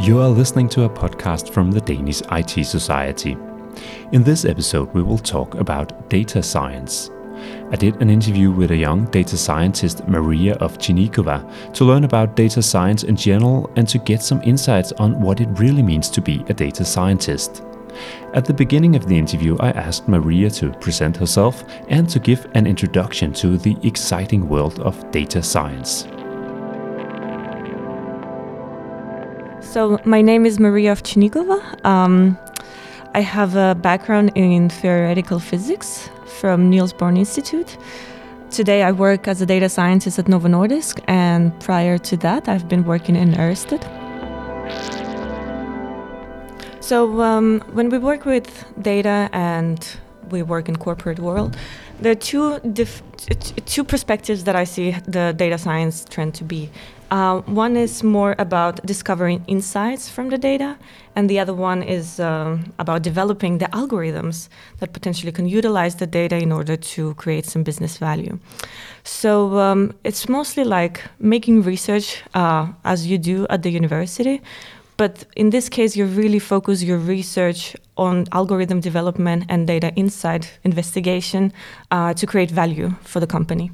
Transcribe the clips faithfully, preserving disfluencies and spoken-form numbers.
You are listening to a podcast from the Danish I T Society. In this episode, we will talk about data science. I did an interview with a young data scientist, Maria of Chinikova, to learn about data science in general and to get some insights on what it really means to be a data scientist. At the beginning of the interview, I asked Maria to present herself and to give an introduction to the exciting world of data science. So my name is Maria of Chinikova. Um, I have a background in theoretical physics from Niels Bohr Institute. Today I work as a data scientist at Novo Nordisk, and prior to that I've been working in Ørsted. So um, when we work with data and we work in corporate world, there are two dif- two perspectives that I see the data science trend to be. Uh, one is more about discovering insights from the data, and the other one is uh, about developing the algorithms that potentially can utilize the data in order to create some business value. So um, it's mostly like making research uh, as you do at the university, but in this case you really focus your research on algorithm development and data insight investigation uh, to create value for the company.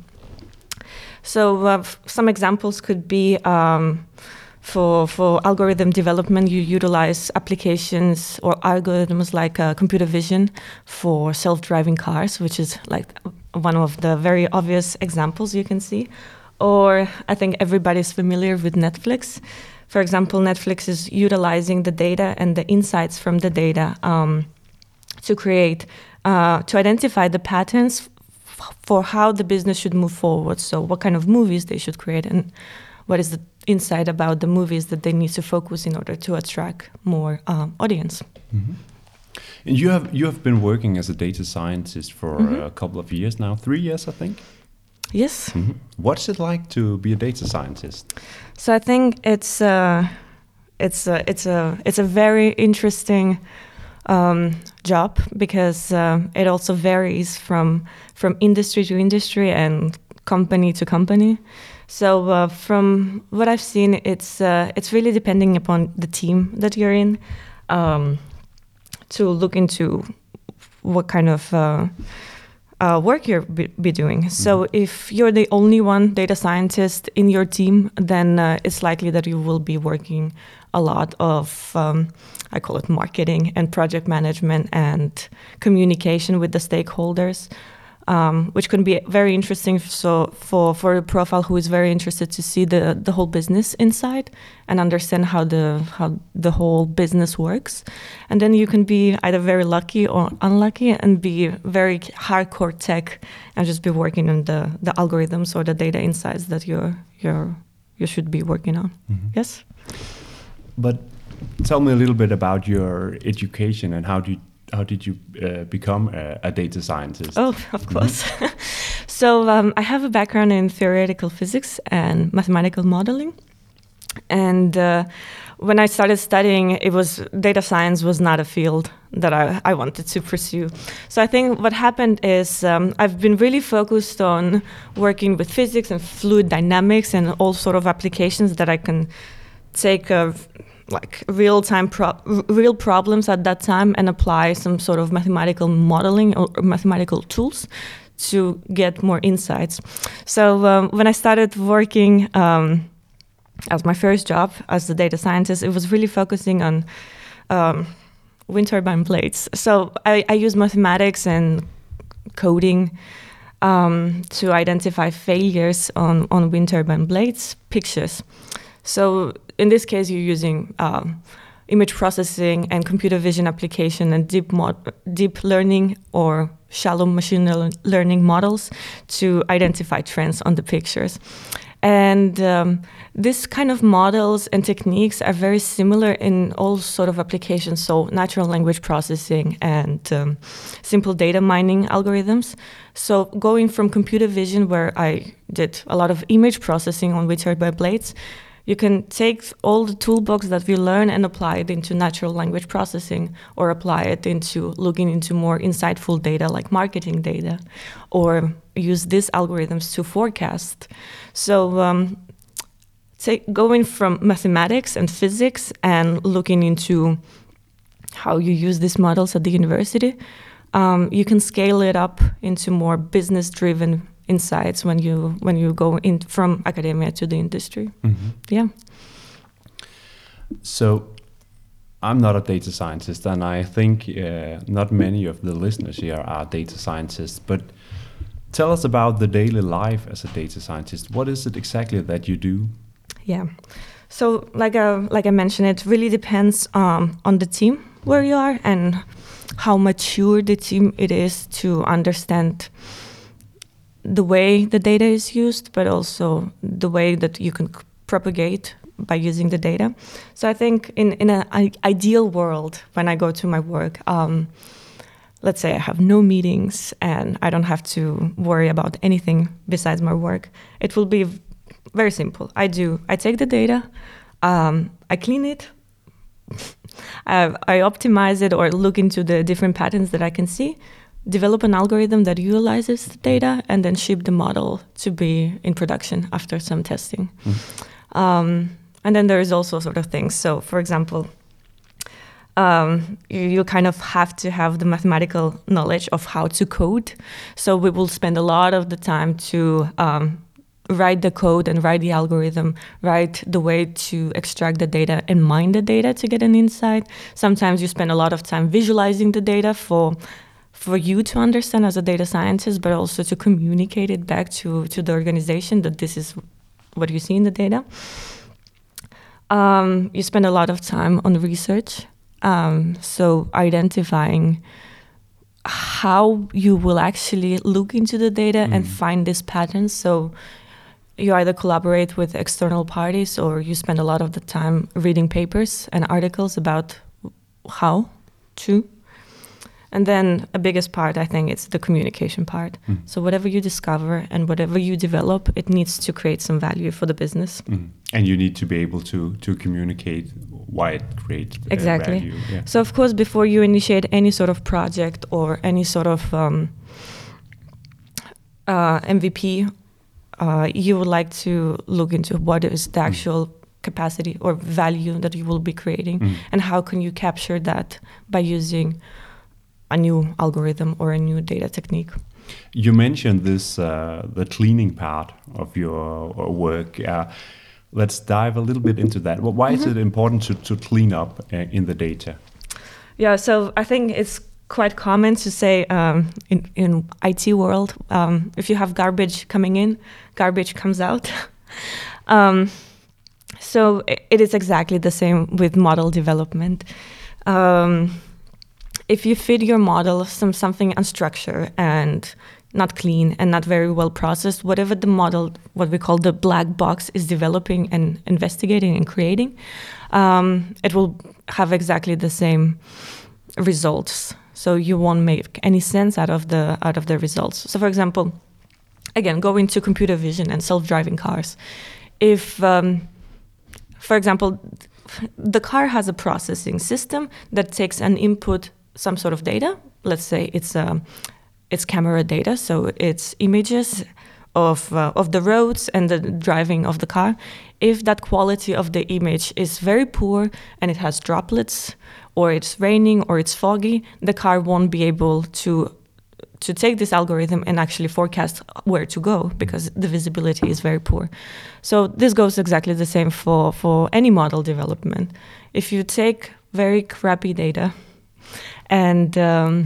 So uh, f- some examples could be um, for for algorithm development, you utilize applications or algorithms like uh, computer vision for self-driving cars, which is like one of the very obvious examples you can see. Or I think everybody's familiar with Netflix. For example, Netflix is utilizing the data and the insights from the data um, to create, uh, to identify the patterns for how the business should move forward. So what kind of movies they should create and what is the insight about the movies that they need to focus in order to attract more um, audience. Mm-hmm. And you have you have been working as a data scientist for Mm-hmm. a couple of years now, three years I think. Yes. Mm-hmm. What's it like to be a data scientist? So I think it's uh, it's a, it's a it's a very interesting Um, job because uh, it also varies from from industry to industry and company to company. So uh, from what I've seen, it's uh, it's really depending upon the team that you're in um, to look into what kind of uh, uh, work you're be, be doing. Mm-hmm. So if you're the only one data scientist in your team, then uh, it's likely that you will be working a lot of um, I call it marketing and project management and communication with the stakeholders, um, which can be very interesting. So for, for a profile who is very interested to see the, the whole business inside and understand how the how the whole business works. And then you can be either very lucky or unlucky and be very hardcore tech and just be working on the, the algorithms or the data insights that you're you're you should be working on. Mm-hmm. Yes. But tell me a little bit about your education and how did how did you uh, become a, a data scientist? Oh, of course. Mm-hmm. So um, I have a background in theoretical physics and mathematical modeling, and uh, when I started studying, it was data science was not a field that I, I wanted to pursue. So I think what happened is um, I've been really focused on working with physics and fluid dynamics and all sort of applications that I can take a like real-time pro- real problems at that time and apply some sort of mathematical modeling or mathematical tools to get more insights. So um, when I started working um, as my first job as a data scientist, it was really focusing on um, wind turbine blades. So I, I use mathematics and coding um, to identify failures on, on wind turbine blades pictures. So in this case, you're using um, image processing and computer vision application and deep mod- deep learning or shallow machine learning models to identify trends on the pictures. And um, this kind of models and techniques are very similar in all sort of applications, so natural language processing and um, simple data mining algorithms. So going from computer vision, where I did a lot of image processing on wind turbine blades, you can take all the toolbox that we learn and apply it into natural language processing, or apply it into looking into more insightful data like marketing data, or use these algorithms to forecast. So um, take, going from mathematics and physics and looking into how you use these models at the university, um, you can scale it up into more business-driven insights when you when you go in from academia to the industry. Mm-hmm. Yeah. So I'm not a data scientist, and I think uh, not many of the listeners here are data scientists, but tell us about the daily life as a data scientist. What is it exactly that you do? Yeah. So like uh, like I mentioned, it really depends um, on the team where you are and how mature the team it is to understand the way the data is used, but also the way that you can c- propagate by using the data. So I think in, in an I- ideal world, when I go to my work, um, let's say I have no meetings and I don't have to worry about anything besides my work, it will be v- very simple. I do, I take the data, um, I clean it, I, I optimize it or look into the different patterns that I can see, develop an algorithm that utilizes the data, and then ship the model to be in production after some testing. Mm. Um, and then there is also sort of things. So, for example, um, you, you kind of have to have the mathematical knowledge of how to code. So we will spend a lot of the time to um, write the code and write the algorithm, write the way to extract the data and mine the data to get an insight. Sometimes you spend a lot of time visualizing the data for for you to understand as a data scientist, but also to communicate it back to, to the organization that this is what you see in the data. Um, you spend a lot of time on research, um, so identifying how you will actually look into the data mm. and find these patterns. So you either collaborate with external parties or you spend a lot of the time reading papers and articles about how to. And then a biggest part, I think, it's the communication part. Mm. So whatever you discover and whatever you develop, it needs to create some value for the business. Mm. And you need to be able to to communicate why it creates uh, exactly. value. Yeah. So of course, before you initiate any sort of project or any sort of um, uh, M V P, uh, you would like to look into what is the actual mm. capacity or value that you will be creating, mm. and how can you capture that by using a new algorithm or a new data technique. You mentioned this, uh, the cleaning part of your work. Uh, let's dive a little bit into that. Well, why mm-hmm. is it important to, to clean up uh, in the data? Yeah, so I think it's quite common to say um, in, in I T world, um, if you have garbage coming in, garbage comes out. um, so it, it is exactly the same with model development. Um, If you feed your model some something unstructured and not clean and not very well processed, whatever the model, what we call the black box, is developing and investigating and creating, um, it will have exactly the same results. So you won't make any sense out of the out of the results. So, for example, again, going to computer vision and self-driving cars. If, um, for example, the car has a processing system that takes an input, some sort of data. Let's say it's um, it's camera data, so it's images of uh, of the roads and the driving of the car. If that quality of the image is very poor and it has droplets, or it's raining, or it's foggy, the car won't be able to to take this algorithm and actually forecast where to go because the visibility is very poor. So this goes exactly the same for for any model development. If you take very crappy data, And um,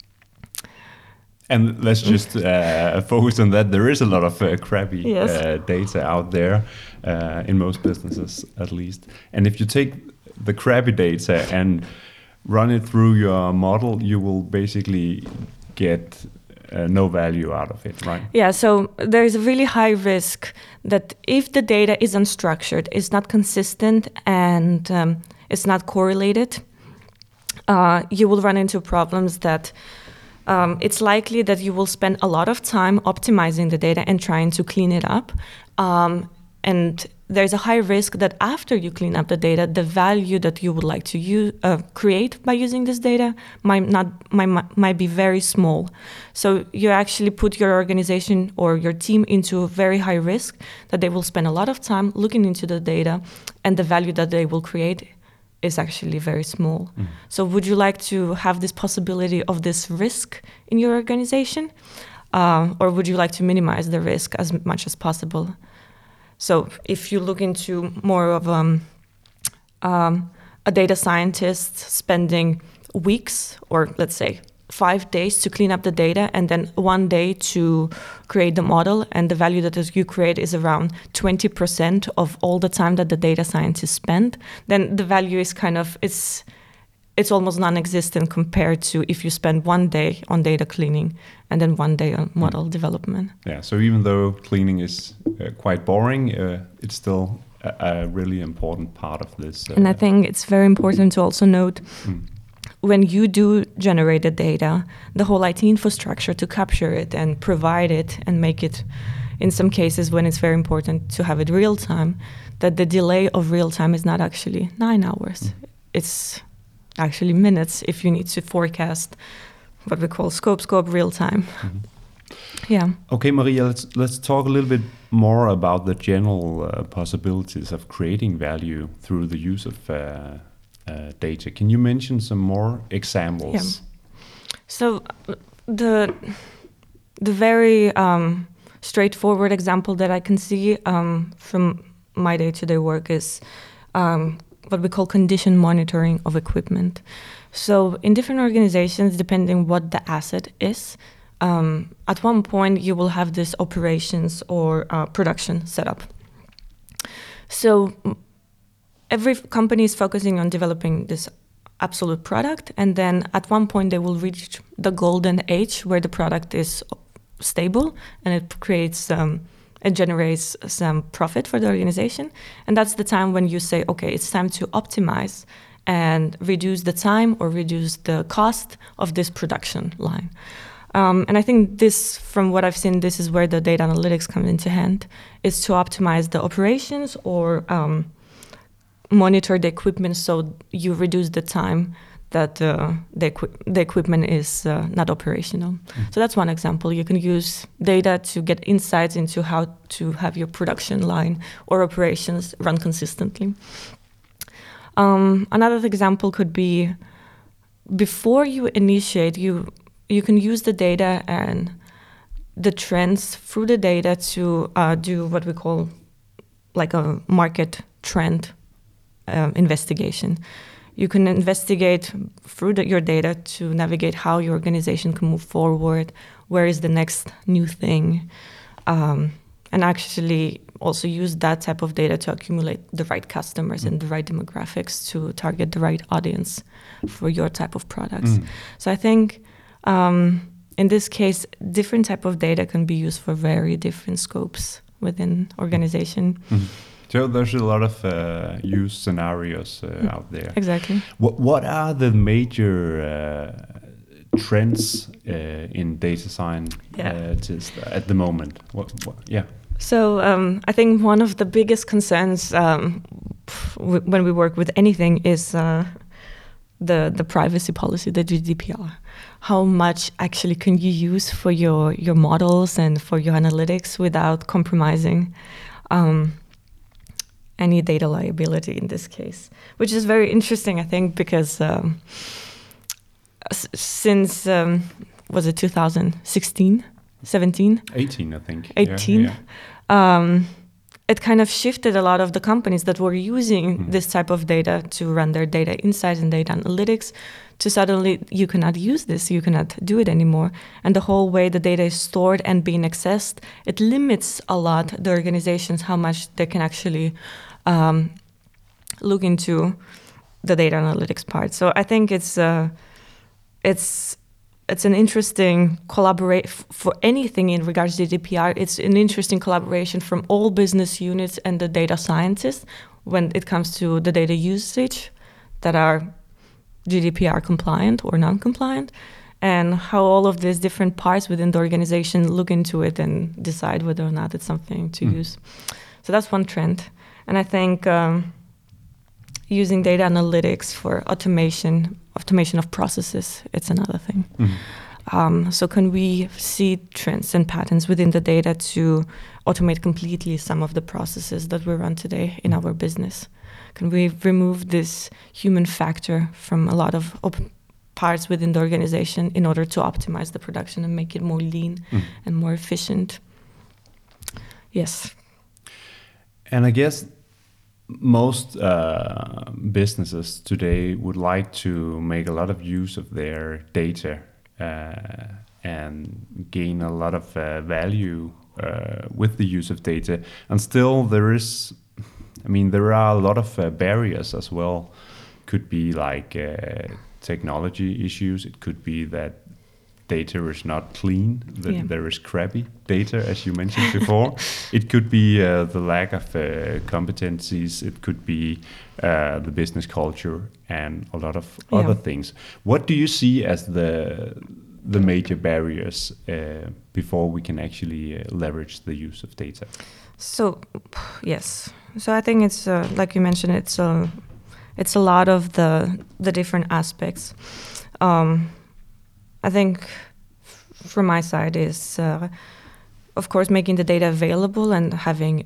and let's just uh, focus on that. There is a lot of uh, crappy yes. uh, data out there, uh, in most businesses at least. And if you take the crappy data and run it through your model, you will basically get uh, no value out of it, right? Yeah, so there is a really high risk that if the data is unstructured, it's not consistent, and um, it's not correlated, Uh, you will run into problems that um, it's likely that you will spend a lot of time optimizing the data and trying to clean it up. Um, and there's a high risk that after you clean up the data, the value that you would like to use, uh, create by using this data might not might, might be very small. So you actually put your organization or your team into a very high risk that they will spend a lot of time looking into the data, and the value that they will create is actually very small. Mm. So would you like to have this possibility of this risk in your organization? Uh, or would you like to minimize the risk as much as possible? So if you look into more of um, um, a data scientist spending weeks or let's say five days to clean up the data and then one day to create the model, and the value that you create is around twenty percent of all the time that the data scientists spend, then the value is kind of, it's it's almost non-existent compared to if you spend one day on data cleaning and then one day on model mm. development. Yeah, so even though cleaning is uh, quite boring, uh, it's still a, a really important part of this. Uh, and I think it's very important to also note mm. when you do generate the data, the whole I T infrastructure to capture it and provide it and make it, in some cases when it's very important to have it real time, that the delay of real time is not actually nine hours. Mm. It's actually minutes if you need to forecast what we call scope scope real time. Mm-hmm. Yeah. Okay, Maria, let's let's talk a little bit more about the general uh, possibilities of creating value through the use of uh, uh, data. Can you mention some more examples? Yeah. So the the very um, straightforward example that I can see um, from my day-to-day work is um, what we call condition monitoring of equipment. So in different organizations, depending what the asset is, um, at one point you will have this operations or uh, production setup. So every company is focusing on developing this absolute product, and then at one point they will reach the golden age where the product is stable and it creates um, it generates some profit for the organization. And that's the time when you say, okay, it's time to optimize and reduce the time or reduce the cost of this production line. Um, and I think this, from what I've seen, this is where the data analytics come into hand, is to optimize the operations or um, monitor the equipment so you reduce the time that uh, the, equi the equipment is uh, not operational. Mm. So that's one example. You can use data to get insights into how to have your production line or operations run consistently. Um, another example could be, before you initiate, you you can use the data and the trends through the data to uh, do what we call like a market trend uh, investigation. You can investigate through the, your data to navigate how your organization can move forward, where is the next new thing, um, and actually also use that type of data to accumulate the right customers mm. and the right demographics to target the right audience for your type of products. Mm. So I think um, in this case, different type of data can be used for very different scopes within organization. Mm. So there's a lot of uh, use scenarios uh, mm, out there. Exactly. What What are the major uh, trends uh, in data science yeah. uh, at the moment? What, what, yeah. So um, I think one of the biggest concerns um, w when we work with anything is uh, the the privacy policy, the G D P R. How much actually can you use for your your models and for your analytics without compromising Um, any data liability in this case, which is very interesting, I think, because um, s since, um, was it two thousand sixteen, seventeen? eighteen, I think. eighteen. Yeah, yeah. Um, it kind of shifted a lot of the companies that were using mm. this type of data to run their data insights and data analytics to suddenly, you cannot use this, you cannot do it anymore. And the whole way the data is stored and being accessed, it limits a lot the organizations how much they can actually Um, look into the data analytics part. So I think it's uh, it's it's an interesting collaborate for anything in regards to G D P R. It's an interesting collaboration from all business units and the data scientists when it comes to the data usage that are G D P R compliant or non-compliant, and how all of these different parts within the organization look into it and decide whether or not it's something to mm. use. So that's one trend. And I think um, using data analytics for automation, automation of processes, it's another thing. Mm-hmm. Um, so can we see trends and patterns within the data to automate completely some of the processes that we run today in our business? Can we remove this human factor from a lot of op- parts within the organization in order to optimize the production and make it more lean mm. and more efficient? Yes. And I guess most uh, businesses today would like to make a lot of use of their data uh, and gain a lot of uh, value uh, with the use of data. And still there is, I mean, there are a lot of uh, barriers as well. Could be like uh, technology issues. It could be that data is not clean, that yeah. there is crappy data, as you mentioned before. It could be uh, the lack of uh, competencies. It could be uh, the business culture and a lot of yeah. other things. What do you see as the the major barriers uh, before we can actually uh, leverage the use of data? So, yes. So I think it's uh, like you mentioned. It's a uh, it's a lot of the the different aspects. Um, I think f- from my side is, uh, of course, making the data available and having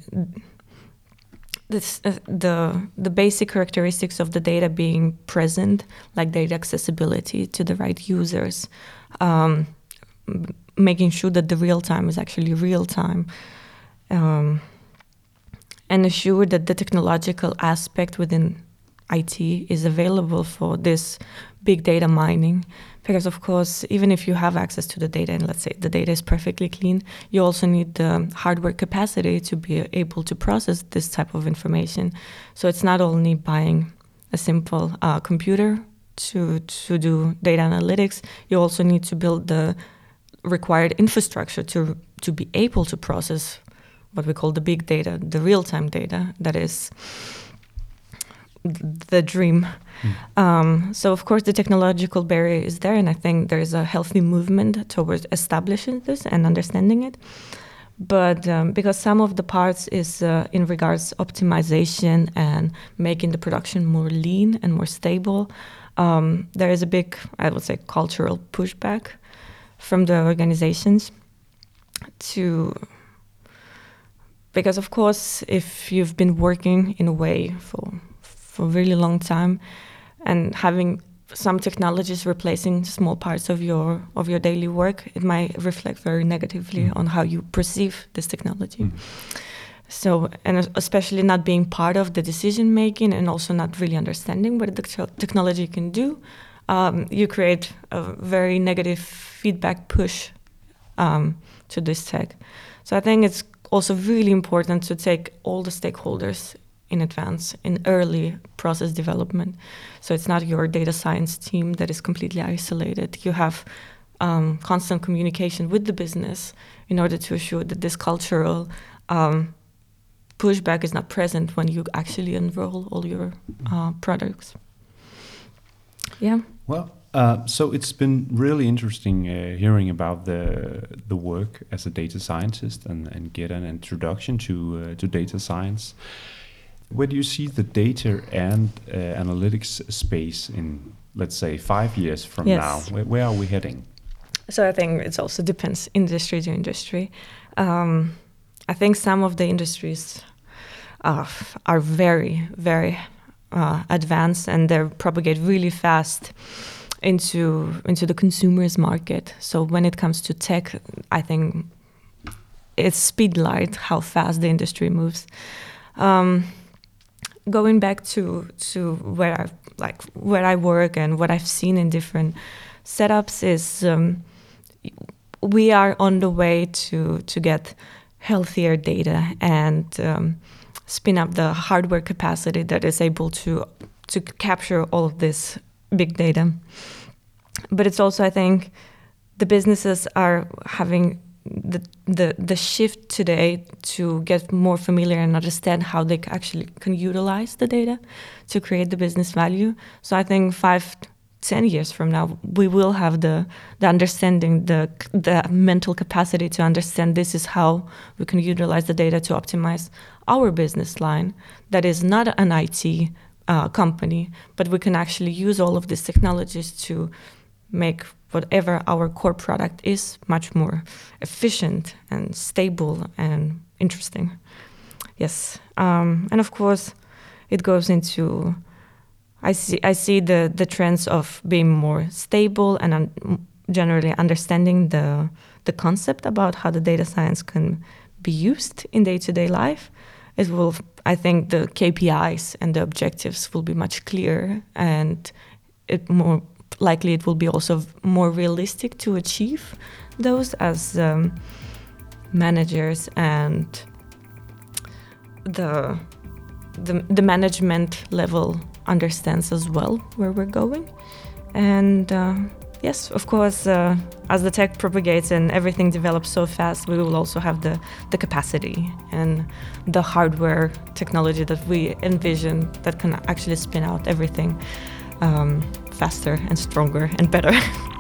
this, uh, the the basic characteristics of the data being present, like data accessibility to the right users, um, m- making sure that the real time is actually real time, um, and assure that the technological aspect within I T is available for this big data mining. Because of course, even if you have access to the data and let's say the data is perfectly clean, you also need the hardware capacity to be able to process this type of information. So it's not only buying a simple uh, computer to to do data analytics, you also need to build the required infrastructure to to be able to process what we call the big data, the real-time data that is the dream. Mm. Um, so of course the technological barrier is there, and I think there is a healthy movement towards establishing this and understanding it. But um, because some of the parts is uh, in regards optimization and making the production more lean and more stable, um, there is a big, I would say, cultural pushback from the organizations to, because of course if you've been working in a way for for a really long time and having some technologies replacing small parts of your of your daily work, it might reflect very negatively mm. on how you perceive this technology. Mm. So, and especially not being part of the decision making and also not really understanding what the te- technology can do, um, you create a very negative feedback push um, to this tech. So I think it's also really important to take all the stakeholders in advance, in early process development. So it's not your data science team that is completely isolated. You have um, constant communication with the business in order to assure that this cultural um, pushback is not present when you actually enroll all your uh, products. Yeah. Well, uh, so it's been really interesting uh, hearing about the the work as a data scientist and, and get an introduction to uh, to data science. Where do you see the data and uh, analytics space in, let's say, five years from yes. now? Where, where are we heading? So I think it also depends industry to industry. Um, I think some of the industries uh, are very, very uh, advanced and they propagate really fast into into the consumers market. So when it comes to tech, I think it's speed light how fast the industry moves. Um, Going back to to where I like where I work and what I've seen in different setups is um, we are on the way to to get healthier data and um, spin up the hardware capacity that is able to to capture all of this big data. But it's also, I think, the businesses are having the the the shift today to get more familiar and understand how they actually can utilize the data to create the business value. So I think five ten years from now, we will have the the understanding, the the mental capacity to understand this is how we can utilize the data to optimize our business line. That is not an I T uh, company, but we can actually use all of these technologies to make whatever our core product is much more efficient and stable and interesting. Yes, um, and of course, it goes into. I see. I see the, the trends of being more stable and un- generally understanding the the concept about how the data science can be used in day-to-day life. It will. I think the K P Is and the objectives will be much clearer, and it more likely it will be also more realistic to achieve those as um, managers and the the the management level understands as well where we're going. And uh, yes, of course, uh, as the tech propagates and everything develops so fast, we will also have the, the capacity and the hardware technology that we envision that can actually spin out everything um, faster and stronger and better.